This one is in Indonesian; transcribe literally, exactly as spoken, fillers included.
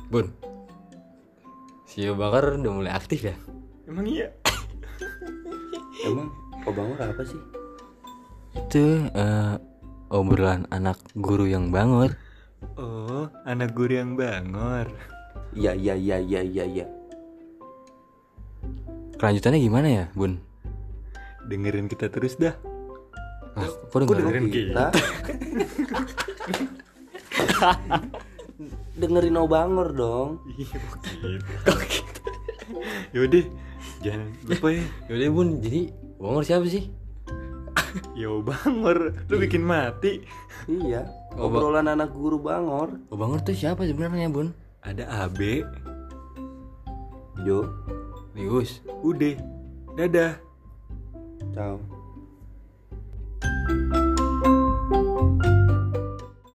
Bun, si Bakar udah mulai aktif ya? Emang iya? Emang Obangor apa sih? Itu uh, obrolan anak guru yang bangor. Oh, anak guru yang bangor. Iya iya iya iya iya iya. Kelanjutannya gimana ya, Bun? Dengerin kita terus dah. Ah, kok Kok dengerin? dengerin Kita dengerin Obangor dong. Iya begitu. Yaudah, jangan lupa ya. Yaudah Bun, jadi bangor siapa sih? Ya bangor, lu bikin mati. Iya. Oba- Obrolan anak guru Bangor. Oh, bangor tuh siapa sebenarnya, Bun? Ada A B, Jo, Lius. udah, dadah. ciao.